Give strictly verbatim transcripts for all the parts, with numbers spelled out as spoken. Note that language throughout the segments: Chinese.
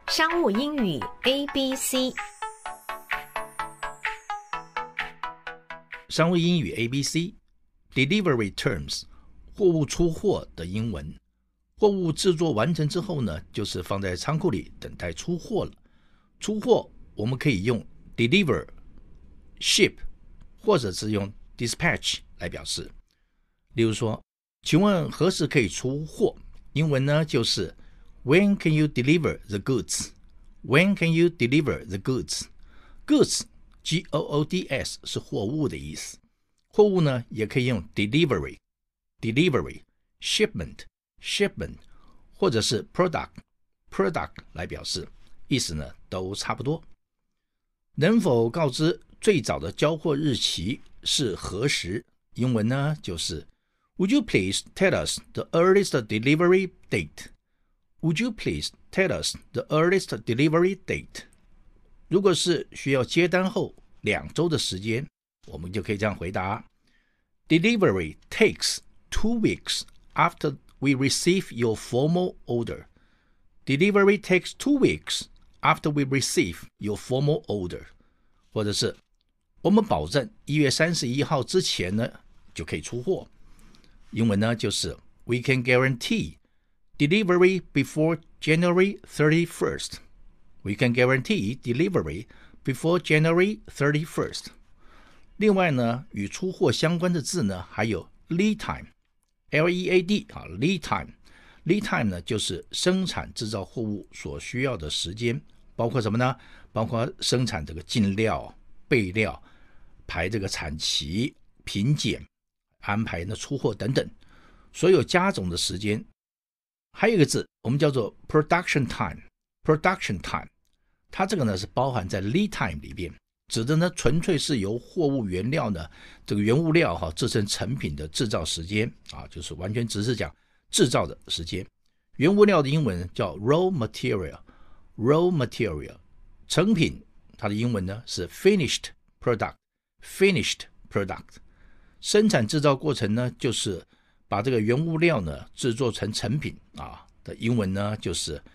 商務英語 A B C。 商務英語 A B C Delivery terms 貨物出貨的英文。貨物制作完成之後呢，就是放在倉庫裡等待出貨了。出貨我們可以用 deliver、ship 或者是用 dispatch 來表示。例如說，請問何時可以出貨？英文呢就是 When can you deliver the goods? When can you deliver the goods? Goods, G O O D S 是貨物的意思。貨物呢也可以用 delivery, delivery, shipment, shipment 或者是 product, product 来表示，意思呢都差不多。能否告知最早的交貨日期是何時？英文呢就是 Would you please tell us the earliest delivery date? Would you please tell us the earliest delivery date? 如果是需要接單後兩周的時間，我們就可以這樣回答 Delivery takes two weeks after we receive your formal order. Delivery takes two weeks after we receive your formal order. 或者是我們保證一月三十一號之前呢就可以出貨。英文呢就是 We can guarantee delivery before January thirty-first. We can guarantee delivery before January thirty-first. 另外呢，與出貨相關的字呢，還有 lead time, L E A D 啊 lead time. Lead time 呢，就是生產製造貨物所需要的時間，包括什麼呢？包括生產這個進料、備料、排這個產期、品檢、安排呢出貨等等，所有加總的時間。還有一個字，我們叫做 production time。production time， 它這個呢是包含在 lead time 裡邊，指的呢純粹是由貨物原料呢這個原物料哈製成成品的製造時間啊，就是完全只是講製造的時間。原物料的英文叫 raw material。raw material， 成品它的英文呢是 finished product。finished product， 生產製造過程呢就是把這個原物料呢製作成成品啊的英文呢就是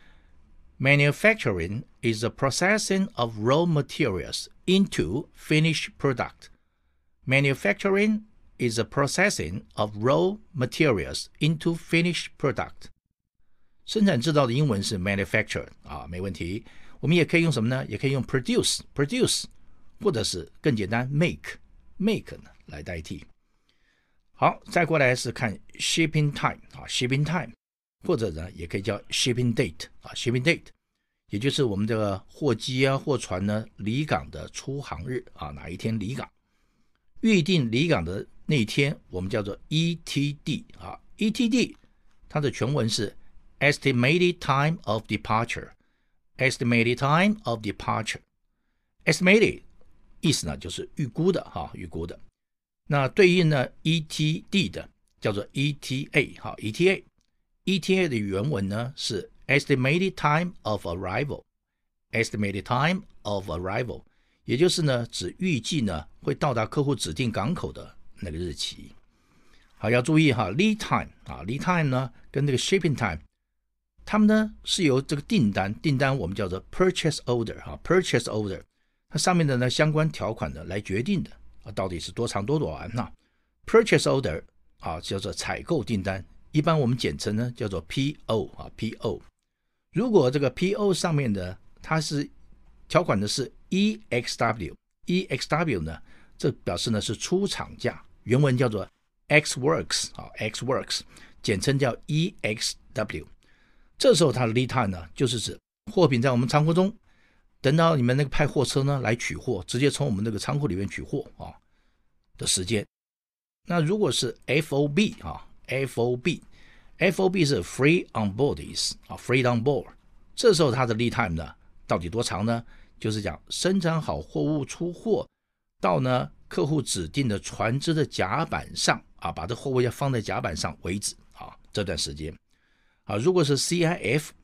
Manufacturing is the processing of raw materials into finished product. Manufacturing is the processing of raw materials into finished product. 生產製造的英文是 manufacture 啊，沒問題。我們也可以用什麼呢？也可以用 produce produce 或者是更簡單 make make 呢來代替。好，再過來是看 shipping time 啊 shipping time， 或者呢也可以叫 shipping date 啊 shipping date， 也就是我們的貨機啊貨船呢離港的出航日啊，哪一天離港。預定離港的那一天我們叫做 E T D 啊 E T D 它的全文是 estimated time of departure estimated time of departure estimated 意思呢就是預估的哈預估的。那對應呢 E T D 的叫做 E T A 好 E T A E T A 的原文呢是 estimated time of arrival estimated time of arrival， 也就是呢指預計呢會到達客戶指定港口的那個日期。好，要注意哈 lead time 啊 lead time 呢跟那個 shipping time 它們呢是由這個訂單訂單我們叫做 purchase order 哈 purchase order 它上面的呢相關條款呢來決定的啊，到底是多長多短呢 ？Purchase order 啊，叫做採購訂單，一般我們簡稱呢叫做 P O 啊 ，P O。如果這個 P O 上面的它是條款的是 E X W，E X W 呢，這表示呢是出廠價，原文叫做 X works 啊 ，X works， 簡稱叫 E X W。這時候它的 lead time 呢，就是指貨品在我們倉庫中。等到你們那個派貨車呢來取貨，直接從我們那個倉庫裡面取貨啊的時間。那如果是 F O B 啊 ，F O B，F O B 是 free on board 啊 ，free on board。這時候它的 lead time 呢到底多長呢？就是講生產好貨物出貨到呢客戶指定的船隻的甲板上啊，把這貨物要放在甲板上為止啊這段時間。啊，如果是 C I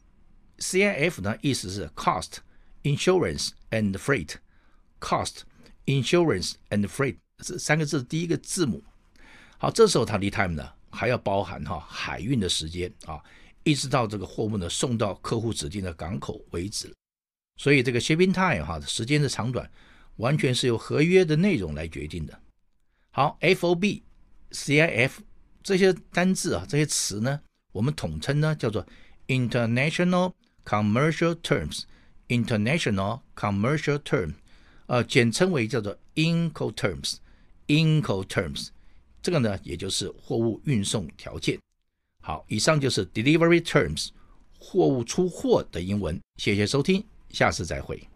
F，C I F 呢意思是 cost。Insurance and freight, cost, insurance and freight 这三個字第一個字母。好，這時候它 lead time 呢還要包含哈海運的時間啊，一直到這個貨物呢送到客戶指定的港口為止。 所以這個 shipping time 哈，時間的長短完全是由合約的內容來決定的。好 ，F O B、C I F 這些單字啊，這些詞呢，我們統稱呢叫做 International Commercial Terms。International Commercial Term， 呃，簡稱為叫做 Incoterms。Incoterms， 這個呢，也就是貨物運送條件。好，以上就是 Delivery Terms， 貨物出貨的英文。謝謝收聽，下次再會。